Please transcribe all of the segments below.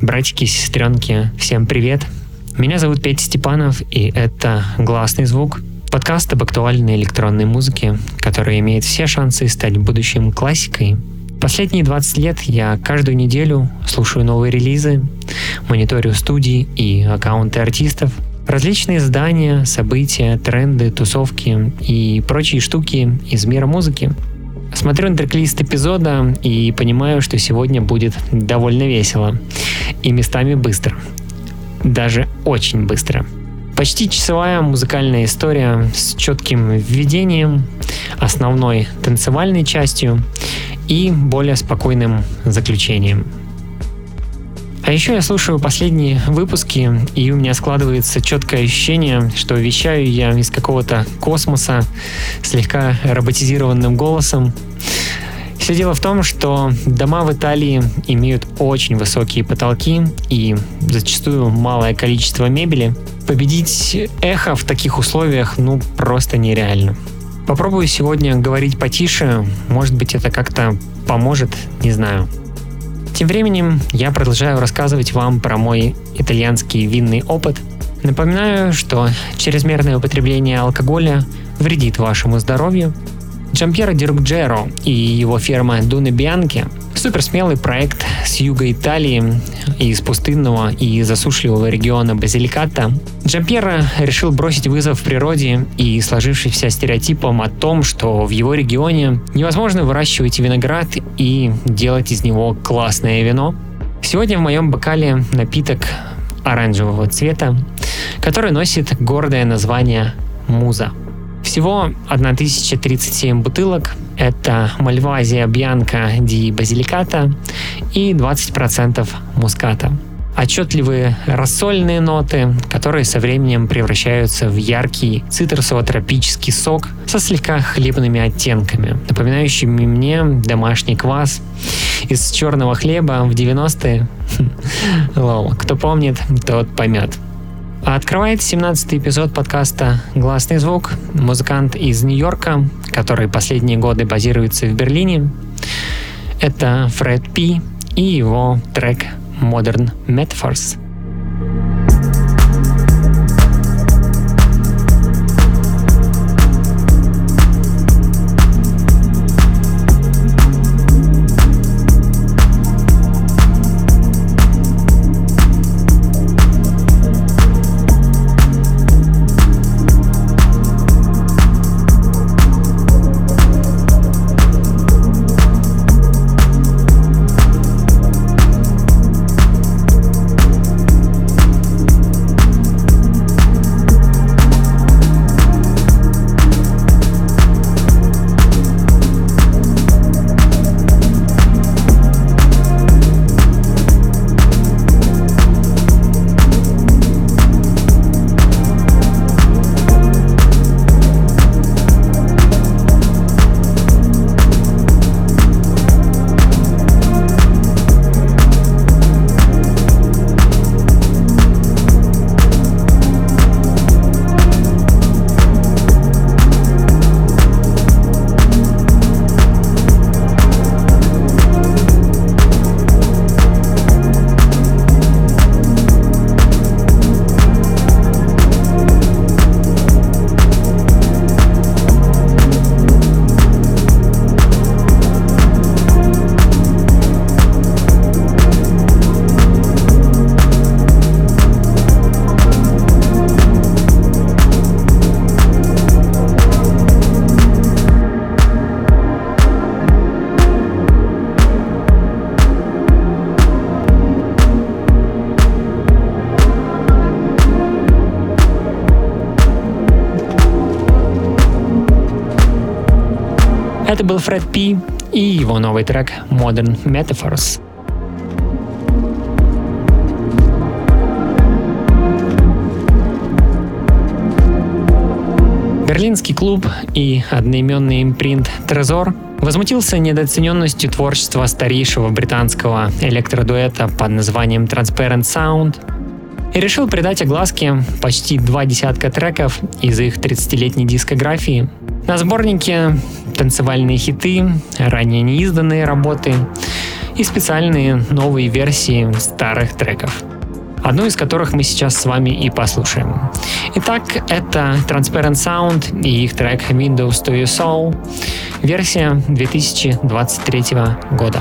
Братики и сестренки, всем привет! Меня зовут Петя Степанов, и это «Гласный звук», подкаст об актуальной электронной музыке, который имеет все шансы стать в будущем классикой. Последние 20 лет я каждую неделю слушаю новые релизы, мониторю студии и аккаунты артистов, различные издания, события, тренды, тусовки и прочие штуки из мира музыки. Смотрю на трек-лист эпизода и понимаю, что сегодня будет довольно весело и местами быстро. Даже очень быстро. Почти часовая музыкальная история с четким введением, основной танцевальной частью и более спокойным заключением. А еще я слушаю последние выпуски, и у меня складывается четкое ощущение, что вещаю я из какого-то космоса слегка роботизированным голосом. Все дело в том, что дома в Италии имеют очень высокие потолки и зачастую малое количество мебели. Победить эхо в таких условиях просто нереально. Попробую сегодня говорить потише, может быть, это как-то поможет, не знаю. Тем временем я продолжаю рассказывать вам про мой итальянский винный опыт. Напоминаю, что чрезмерное употребление алкоголя вредит вашему здоровью. Giampiero Di Ruggiero и его фирма Dune Bianche – суперсмелый проект с юга Италии, из пустынного и засушливого региона Базиликата. Giampiero решил бросить вызов природе и сложившимся стереотипам о том, что в его регионе невозможно выращивать виноград и делать из него классное вино. Сегодня в моем бокале напиток оранжевого цвета, который носит гордое название «Муза». Всего 1037 бутылок. Это Malvasia Bianca di Basilicata и 20% муската. Отчетливые рассольные ноты, которые со временем превращаются в яркий цитрусово-тропический сок со слегка хлебными оттенками, напоминающими мне домашний квас из черного хлеба в 90-е. Лол, кто помнит, тот поймет. Открывает 17-й эпизод подкаста «Гласный звук» музыкант из Нью-Йорка, который последние годы базируется в Берлине. Это Фред Пи и его трек «Modern Metaphors». Это был Фред Пи и его новый трек Modern Metaphors. Берлинский клуб и одноименный импринт Trezor возмутился недооцененностью творчества старейшего британского электродуэта под названием Transparent Sound и решил придать огласке почти 20 треков из их 30-летней дискографии. На сборнике танцевальные хиты, ранее неизданные работы и специальные новые версии старых треков, одну из которых мы сейчас с вами и послушаем. Итак, это Transparent Sound и их трек Windows to Your Soul, версия 2023 года.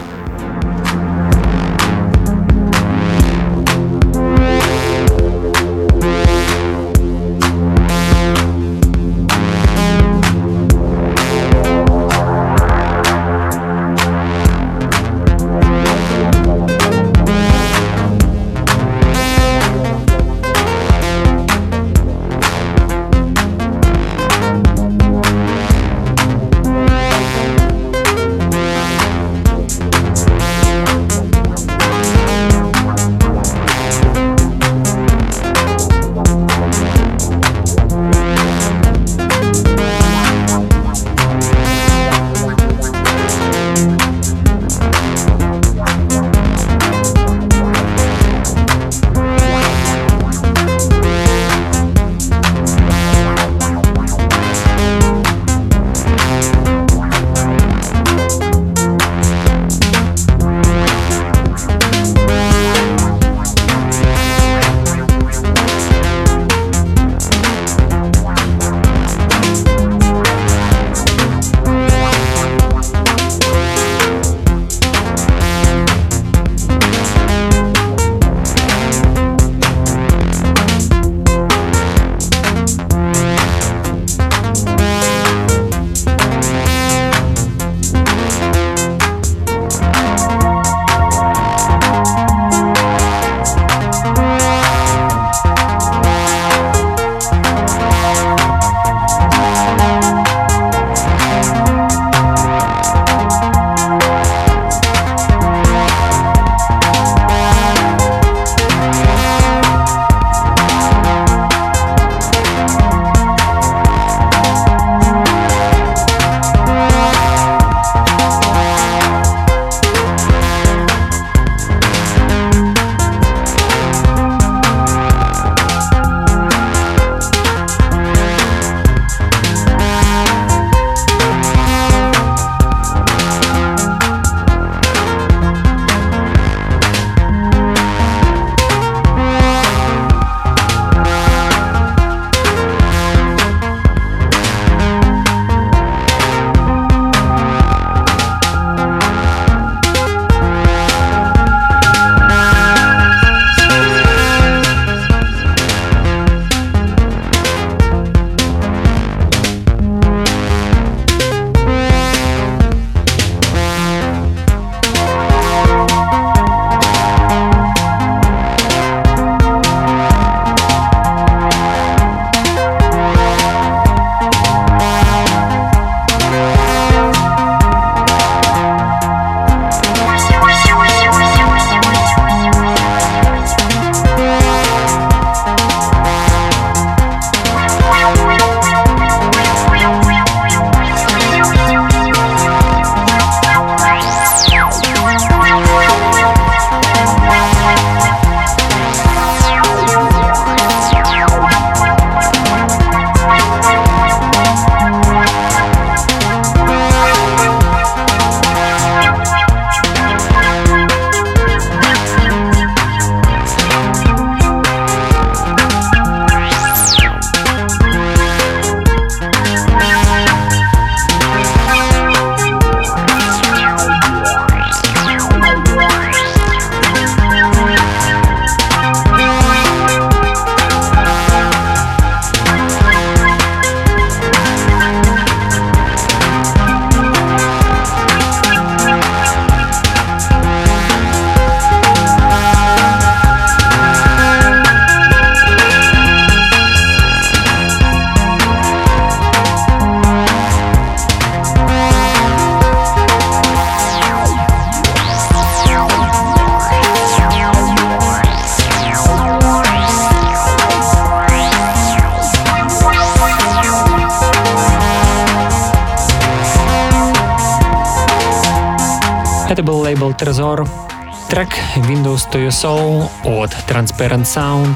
Это был лейбл Trezor, трек Windows to Your Soul от Transparent Sound.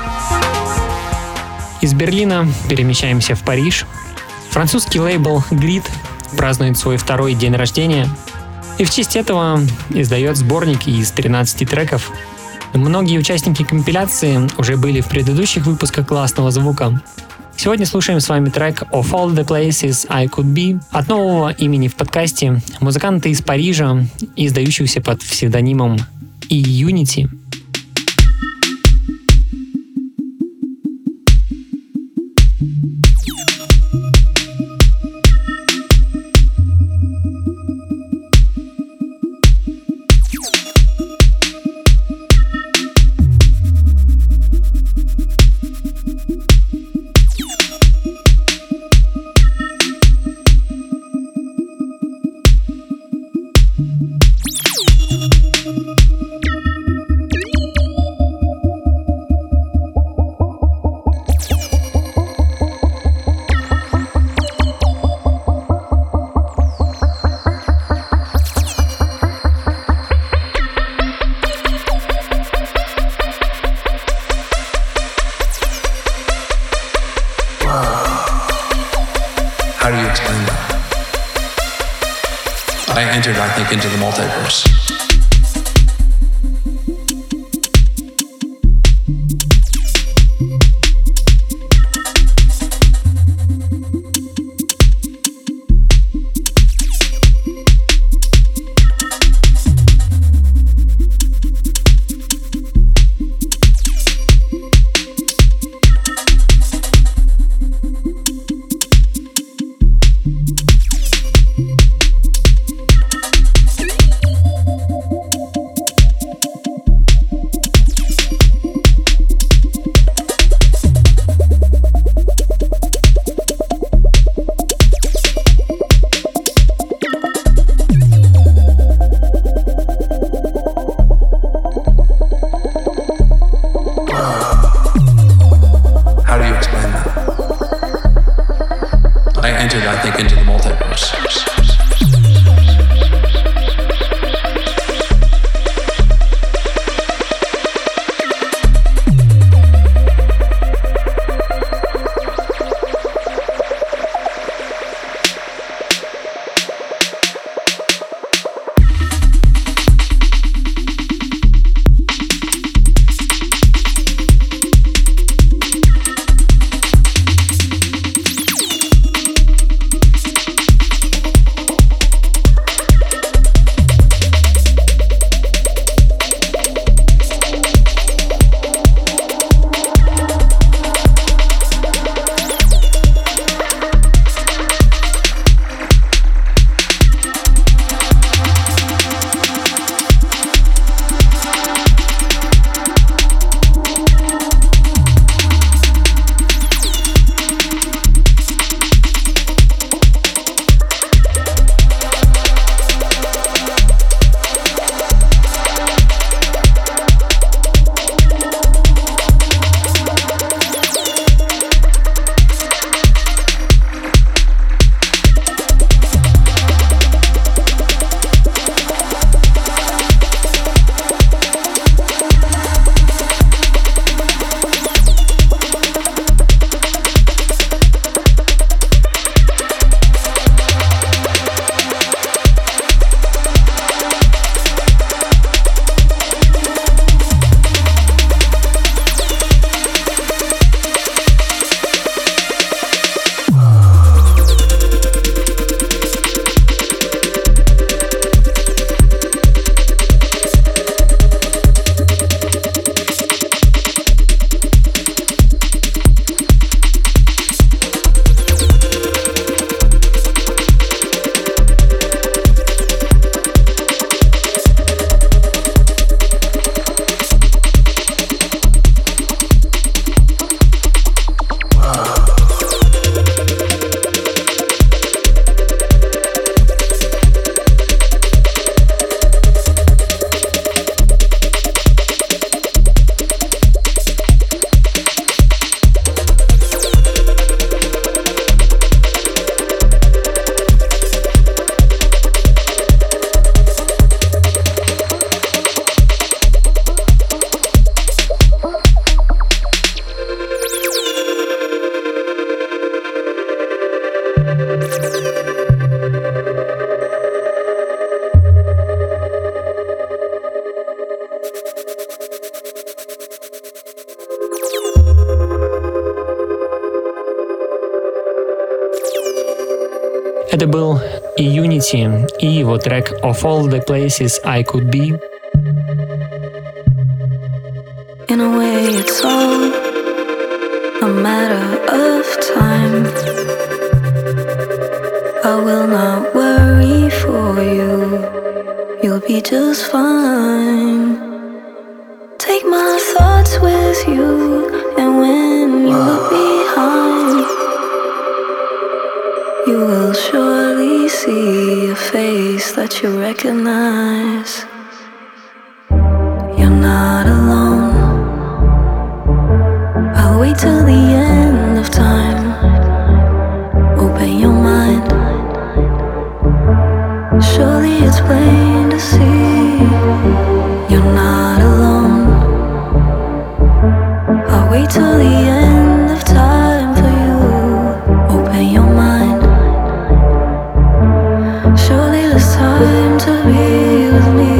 Из Берлина перемещаемся в Париж. Французский лейбл Grid празднует свой второй день рождения. И в честь этого издает сборник из 13 треков. Многие участники компиляции уже были в предыдущих выпусках классного звука. Сегодня слушаем с вами трек «Of All the Places I Could Be» от нового имени в подкасте музыканта из Парижа, издающегося под псевдонимом E-Unity. How do you explain that? I entered, I think, into the multiverse. Это был и Unity, и его трек «Of All the Places I Could Be». In a way it's all a matter of time. I will not worry for you. You'll be just fine. Take my thoughts with you, and when you look behind, you will surely see a face that you recognize. You're not alone. I'll wait till the end of time. Open your mind. Surely it's plain to see you're not alone. I'll wait till the end of time for you. Open your mind. Surely there's time to be with me.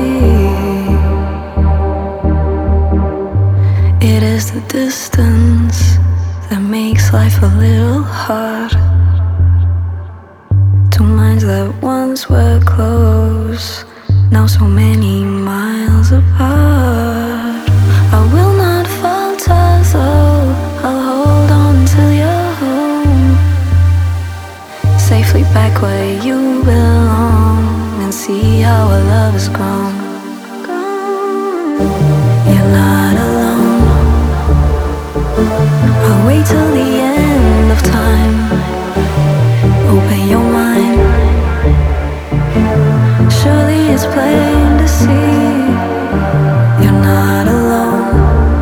It is the distance that makes life a little hard. Two minds that once were close, now so many miles apart. I will not falter though, I'll hold on till you're home, safely back where you belong, and see how our love has grown. You're not alone. I'll wait till the end of time. Open your mind. Surely it's plain to see you're not alone.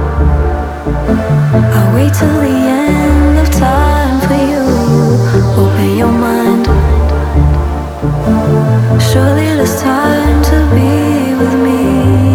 I'll wait till the end of time for you. Open your mind. Surely there's time to be with me.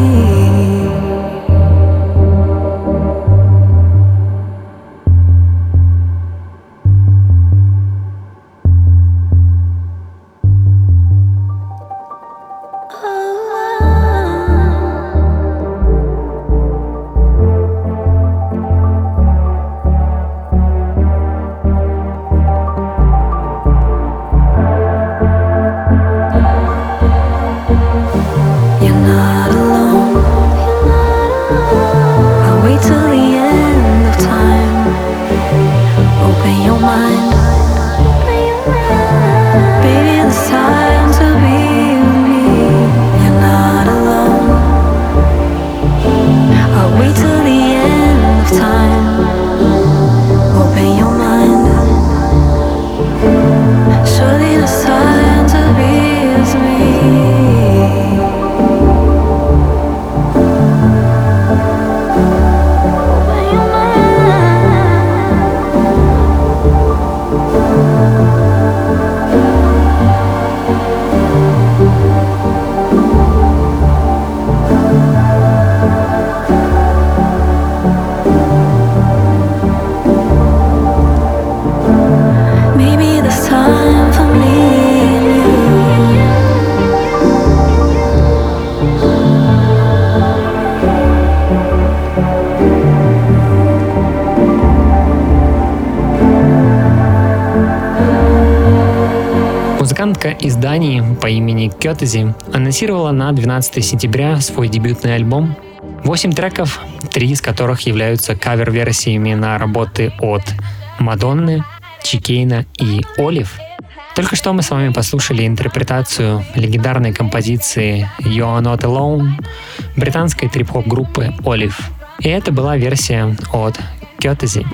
Музыкантка из Дании по имени Кётези анонсировала на 12 сентября свой дебютный альбом. 8 треков, 3 из которых являются кавер-версиями на работы от Мадонны, Чикейна и Олив. Только что мы с вами послушали интерпретацию легендарной композиции You Are Not Alone британской трип-хоп группы Олив. И это была версия от Кётези.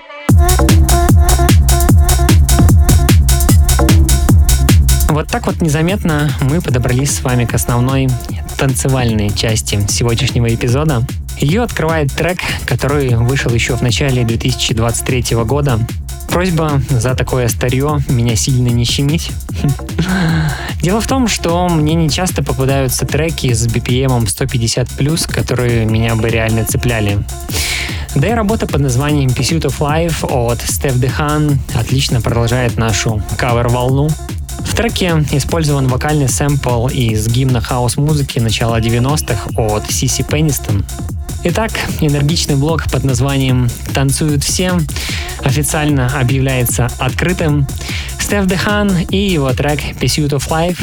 Вот так вот незаметно мы подобрались с вами к основной танцевальной части сегодняшнего эпизода. Ее открывает трек, который вышел еще в начале 2023 года. Просьба за такое старье меня сильно не щемить. Дело в том, что мне не часто попадаются треки с BPM 150+, которые меня бы реально цепляли. Да и работа под названием Pursuit of Life от Стеф Дехан отлично продолжает нашу кавер-волну. В треке использован вокальный сэмпл из гимна хаус-музыки начала 90-х от Сиси Пеннистон. Итак, энергичный блок под названием «Танцуют все» официально объявляется открытым. Steph Dehan и его трек «Pursuit of Life».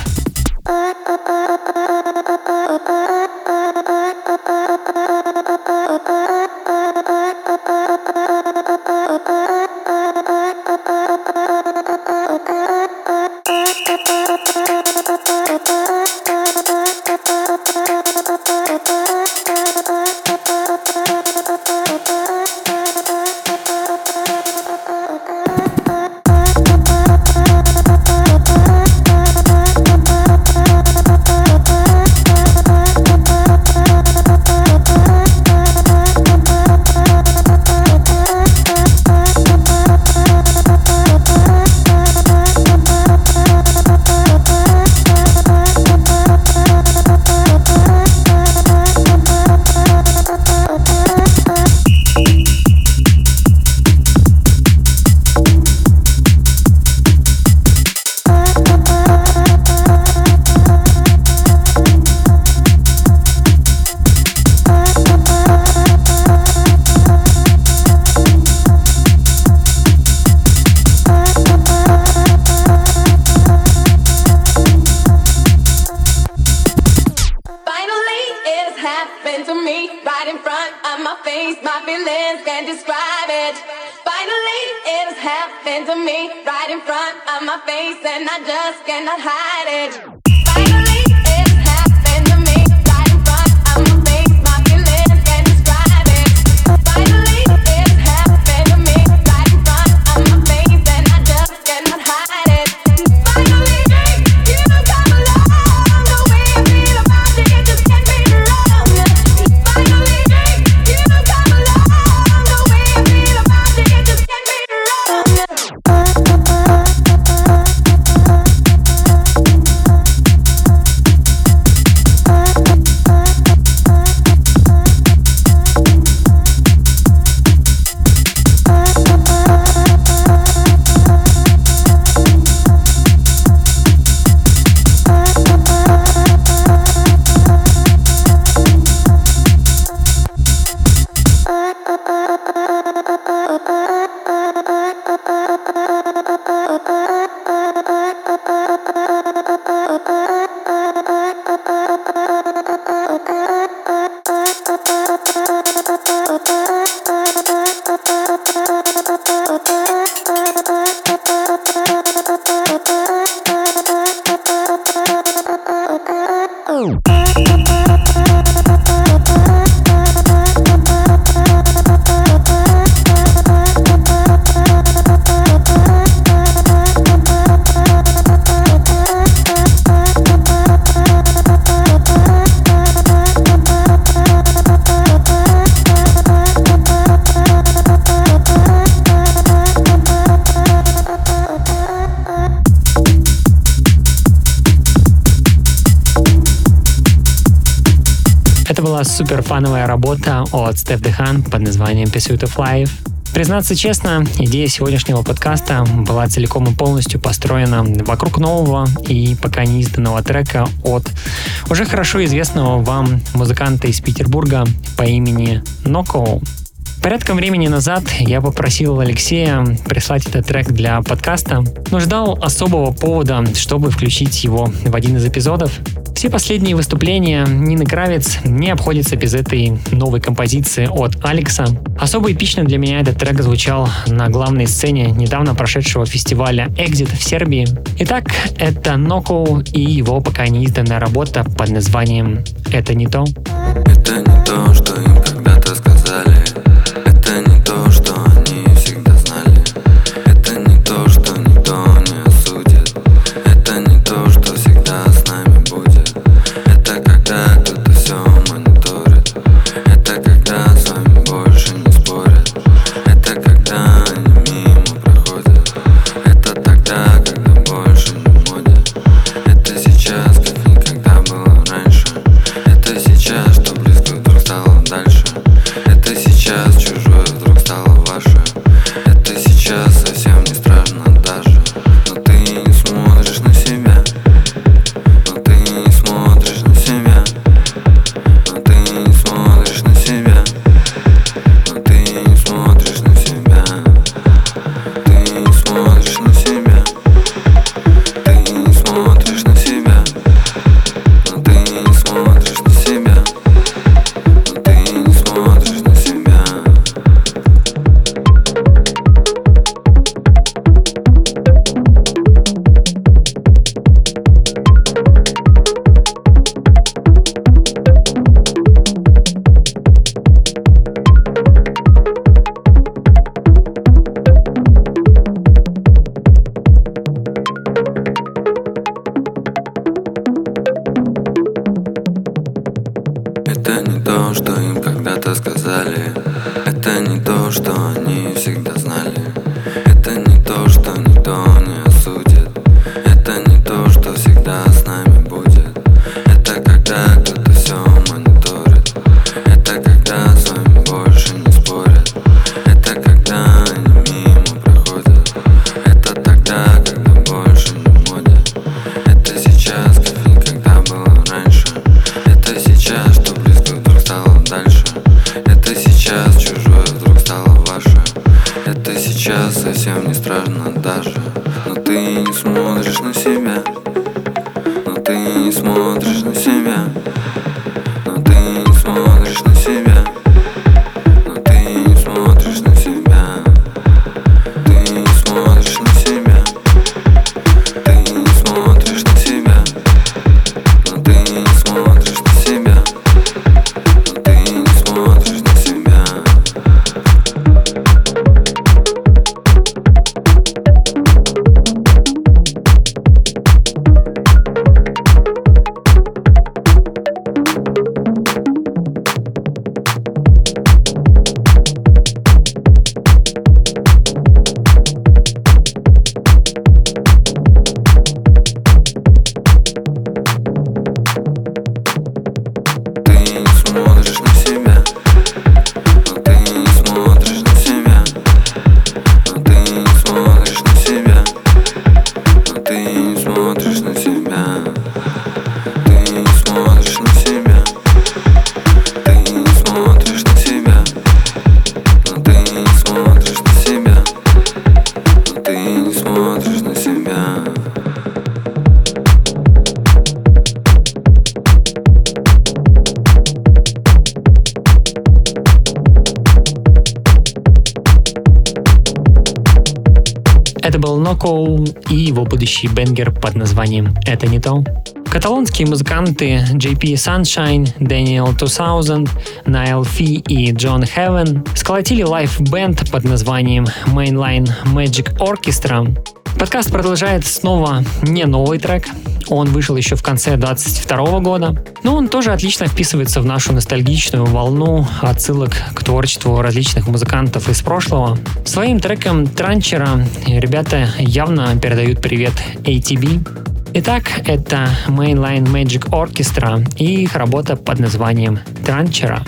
Это была супер фановая работа от Steph Dehan под названием Pursuit of Life. Признаться честно, идея сегодняшнего подкаста была целиком и полностью построена вокруг нового и пока не изданного трека от уже хорошо известного вам музыканта из Петербурга по имени Noko. Порядком времени назад я попросил Алексея прислать этот трек для подкаста, но ждал особого повода, чтобы включить его в один из эпизодов. Все последние выступления Нины Кравец не обходятся без этой новой композиции от Алекса. Особо эпично для меня этот трек звучал на главной сцене недавно прошедшего фестиваля Exit в Сербии. Итак, это Noko и его пока не изданная работа под названием «Это не то». Это не то, что им когда-то сказали. Это не то, что они всегда знали. Это не то, что никто не осудит. Это не то, что всегда с нами будет. Это когда кто-то все мониторит. Это когда с вами больше не спорят. Это когда они мимо проходят. Это тогда, когда больше не в моде. Это сейчас, как никогда было раньше. Это сейчас, что близко сказали. Это не то, что они всегда знали. Это не то, что никто не осудит. Это не то, что всегда с нами будет. Это когда кто-то все мониторит. Это когда с вами больше не спорят. Это когда они мимо проходят. Это тогда, когда больше не модят. Это сейчас, как никогда было раньше. Это сейчас, что близко вдруг стало дальше. Это сейчас чужое вдруг стало ваше. Это сейчас совсем не страшно даже. Но ты не смотришь на себя. Но ты не смотришь на себя. Но ты не смотришь на себя. Но ты не смотришь на себя. Ты не смотришь на себя. Ты не смотришь на себя. Но ты не смотришь на себя. Но ты не смотришь на себя. Ты не смотришь на себя. Но ты не смотришь на себя. Но ты не смотришь на себя. Но ты не смотришь на себя. Ты не смотришь на себя. Ты не смотришь на себя. Но ты не смотришь на себя. Но ты не смотришь на себя. Это был Ноко и его будущий бенгер под названием «Это не то». Каталонские музыканты JP Sunshine, Daniel 2000, Niall Fee и John Heaven сколотили лайв-бенд под названием Mainline Magic Orchestra. Подкаст продолжает снова не новый трек. Он вышел еще в конце 2022 года. Но он тоже отлично вписывается в нашу ностальгичную волну отсылок к творчеству различных музыкантов из прошлого. Своим треком Транчера ребята явно передают привет ATB. Итак, это Mainline Magic Orchestra и их работа под названием Транчера.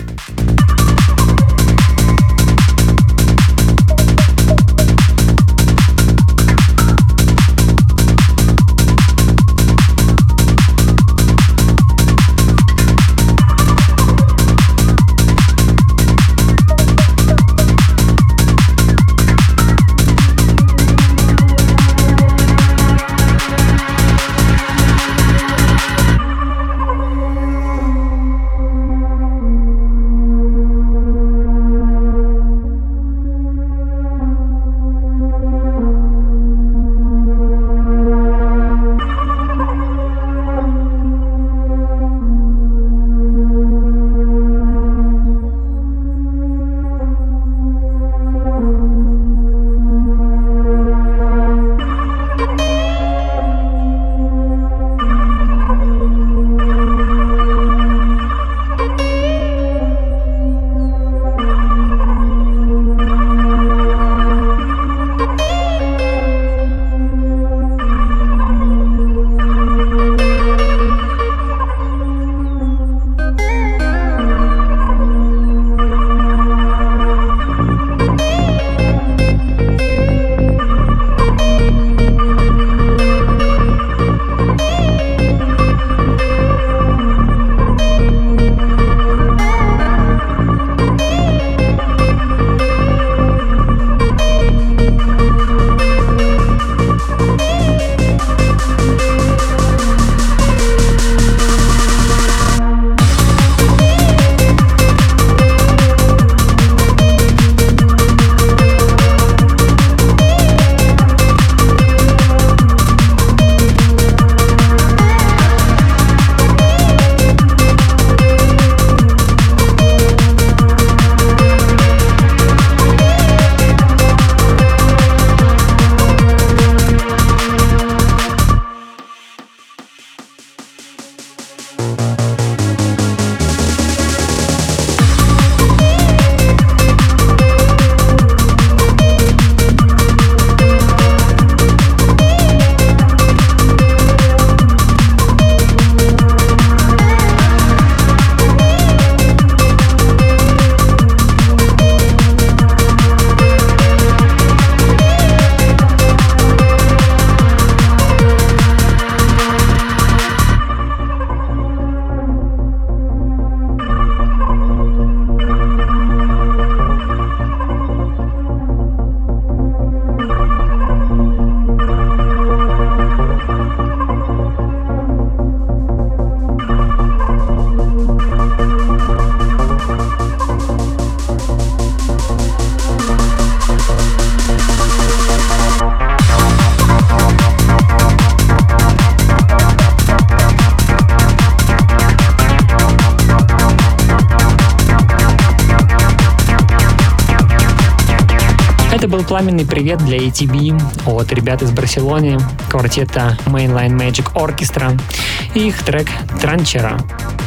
Это был пламенный привет для ATB от ребят из Барселоны, квартета Mainline Magic Orchestra и их трек «Транчера».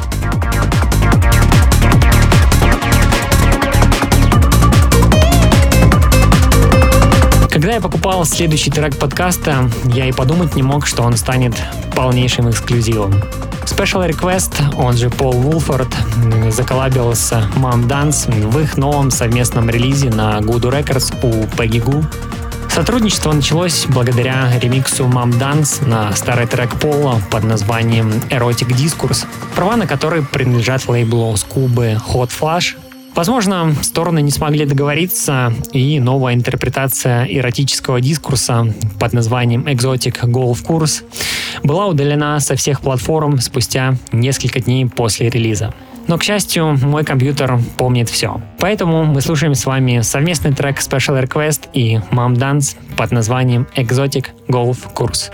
Когда я покупал следующий трек подкаста, я и подумать не мог, что он станет полнейшим эксклюзивом. Special Request, он же Пол Вулфорд, заколлабил с Mom Dance в их новом совместном релизе на Voodoo Records у Peggy Gou. Сотрудничество началось благодаря ремиксу Mom Dance на старый трек Пола под названием Erotic Discourse, права на который принадлежат лейблу Скубы Hot Flash. Возможно, стороны не смогли договориться, и новая интерпретация эротического дискурса под названием Exotic Golf Course была удалена со всех платформ спустя несколько дней после релиза. Но, к счастью, мой компьютер помнит все. Поэтому мы слушаем с вами совместный трек Special Request и Mom Dance под названием Exotic Golf Course.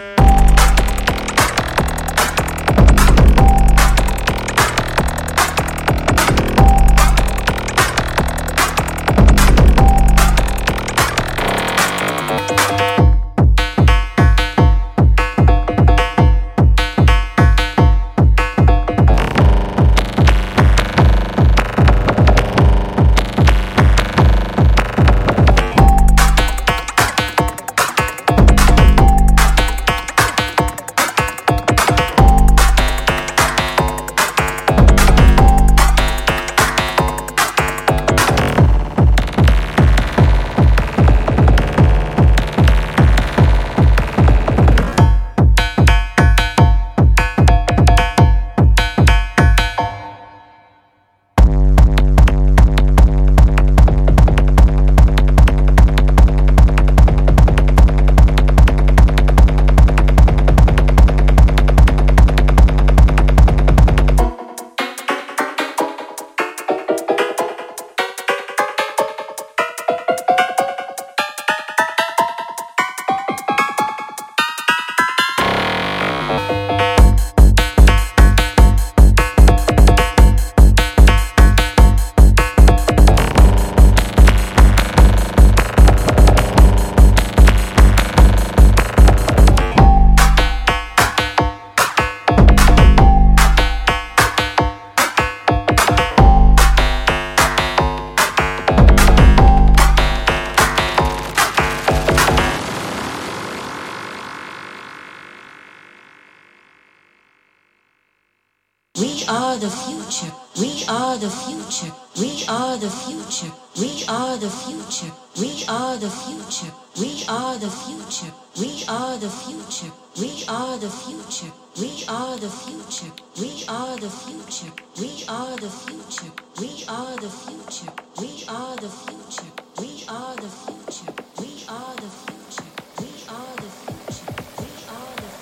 We are the future. We are the future. We are the future. We are the future. We are the future. We are the future. We are the future. We are the future. We are the future. We are the future. We are the future. We are the future. We are the future. We are the future. We are the future. We are the future. We are the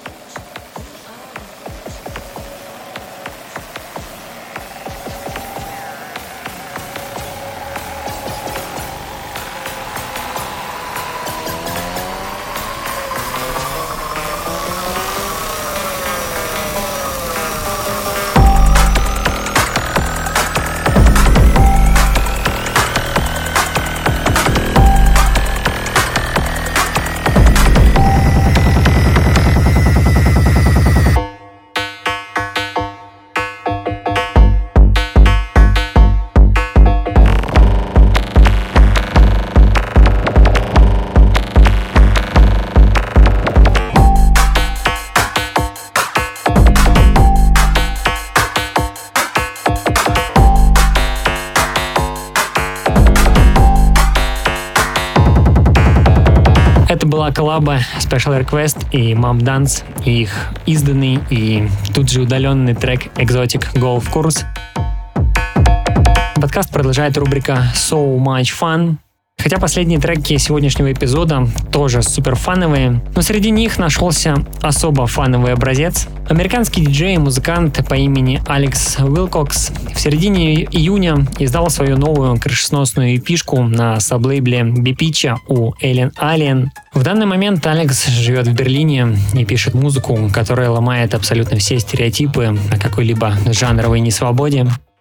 Это была коллаба Special Request и Mom Dance, и их изданный и тут же удаленный трек Exotic Golf Course. Подкаст продолжает рубрика So Much Fun. Хотя последние треки сегодняшнего эпизода тоже супер фановые, но среди них нашелся особо фановый образец. Американский диджей и музыкант по имени Алекс Уилкокс в середине июня издал свою новую крышесносную эпишку на саблейбле Бипича у Alien Alien. В данный момент Алекс живет в Берлине и пишет музыку, которая ломает абсолютно все стереотипы о какой-либо жанровой несвободе.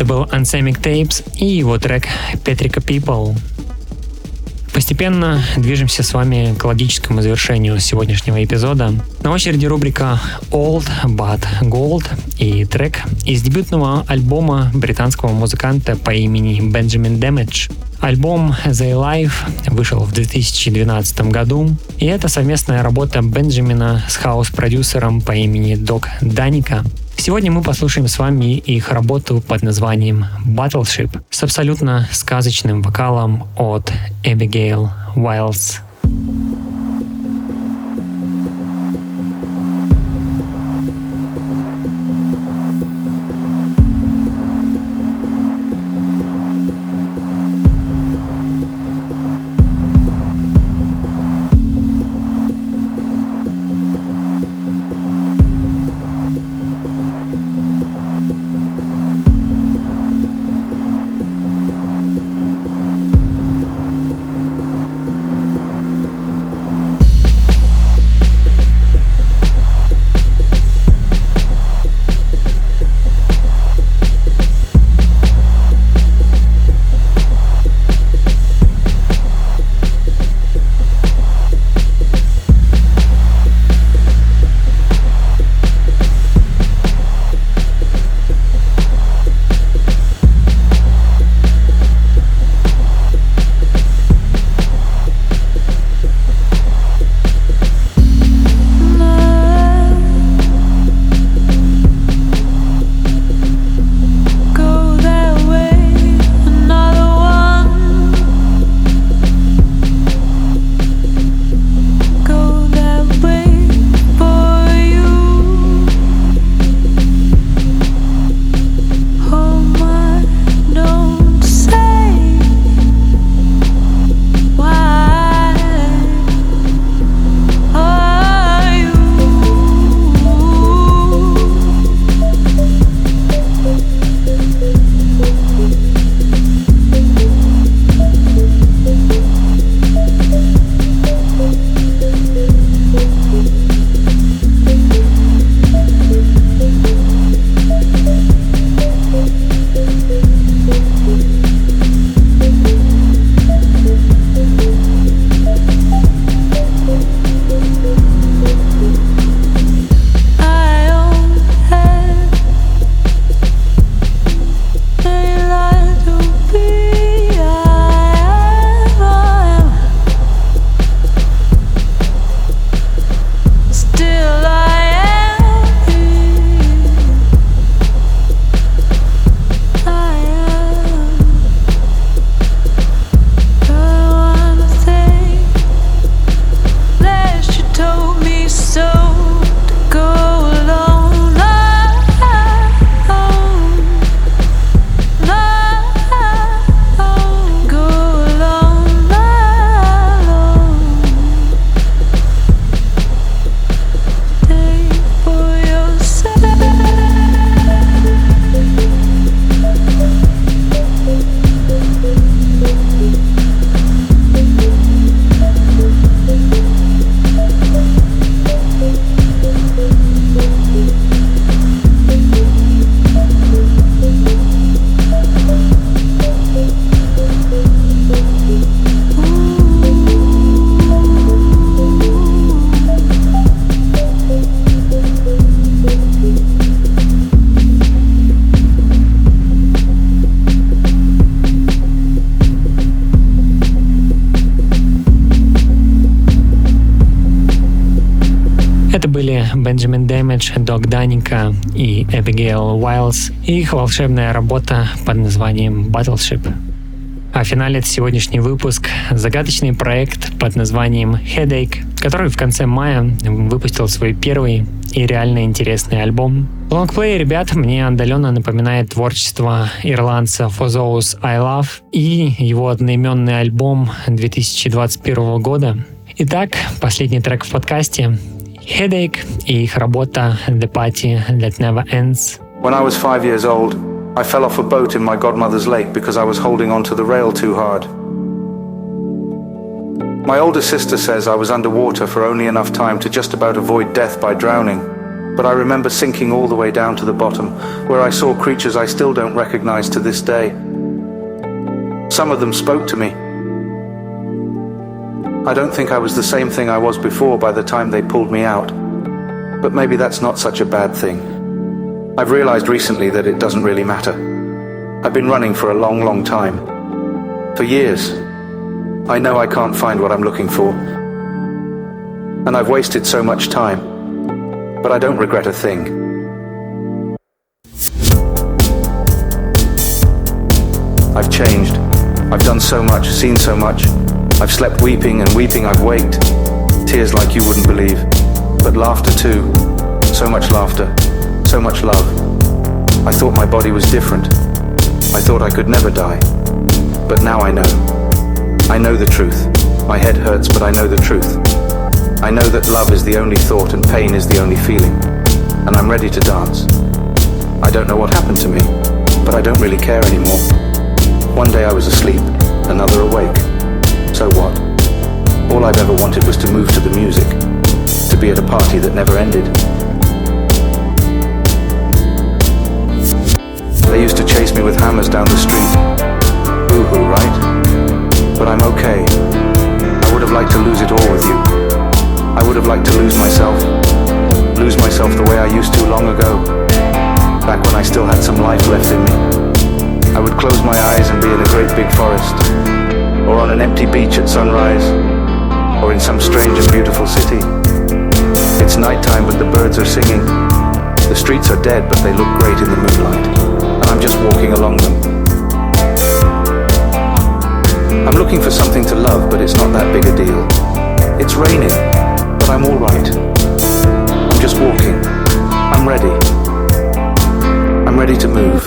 Это был Anthemic Tapes и его трек Petrica People. Постепенно движемся с вами к логическому завершению сегодняшнего эпизода. На очереди рубрика Old But Gold и трек из дебютного альбома британского музыканта по имени Benjamin Damage. Альбом The Life вышел в 2012 году, и это совместная работа Бенджамина с хаус-продюсером по имени Дог Даника. Сегодня мы послушаем с вами их работу под названием Battleship с абсолютно сказочным вокалом от Abigail Wilds. Это были Benjamin Damage, Дог Даника и Abigail Wilds и их волшебная работа под названием Battleship. А финалит сегодняшний выпуск загадочный проект под названием Headache, который в конце мая выпустил свой первый и реально интересный альбом. Лонгплей ребят мне отдаленно напоминает творчество ирландца For Those I Love и его одноименный альбом 2021 года. Итак, последний трек в подкасте Headache и их работа The Party That Never Ends. When I was 5 years old, I fell off a boat in my godmother's lake because I was holding onto the rail too hard. My older sister says I was underwater for only enough time to just about avoid death by drowning. But I remember sinking all the way down to the bottom, where I saw creatures I still don't recognize to this day. Some of them spoke to me. I don't think I was the same thing I was before by the time they pulled me out. But maybe that's not such a bad thing. I've realized recently that it doesn't really matter. I've been running for a long, long time. For years. I know I can't find what I'm looking for. And I've wasted so much time. But I don't regret a thing. I've changed. I've done so much, seen so much. I've slept weeping, and weeping I've waked. Tears like you wouldn't believe. But laughter too. So much laughter. So much love. I thought my body was different. I thought I could never die. But now I know. I know the truth. My head hurts, but I know the truth. I know that love is the only thought and pain is the only feeling. And I'm ready to dance. I don't know what happened to me, but I don't really care anymore. One day I was asleep, another awake. So what? All I've ever wanted was to move to the music, to be at a party that never ended. They used to chase me with hammers down the street. Boo-hoo, right? But I'm okay. I would have liked to lose it all with you. I would have liked to lose myself the way I used to long ago, back when I still had some life left in me. I would close my eyes and be in a great big forest, or on an empty beach at sunrise, or in some strange and beautiful city. It's nighttime but the birds are singing. The streets are dead but they look great in the moonlight, and I'm just walking along them. I'm looking for something to love, but it's not that big a deal. It's raining, but I'm all right. I'm just walking. I'm ready. I'm ready to move.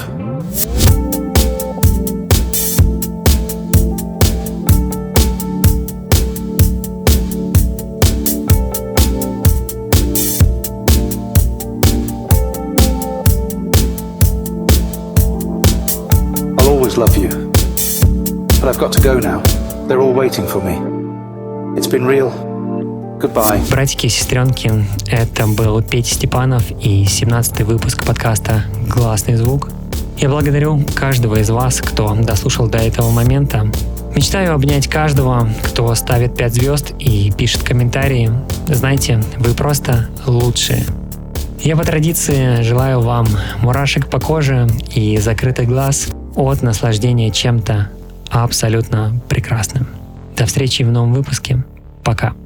I'll always love you. But I've got to go now. They're all waiting for me. It's been real. Goodbye. Братики и сестренки, это был Петя Степанов и 17-й выпуск подкаста «Гласный звук». Я благодарю каждого из вас, кто дослушал до этого момента. Мечтаю обнять каждого, кто ставит 5 звезд и пишет комментарии. Знаете, вы просто лучшие. Я по традиции желаю вам мурашек по коже и закрытый глаз от наслаждения чем-то абсолютно прекрасным. До встречи в новом выпуске. Пока.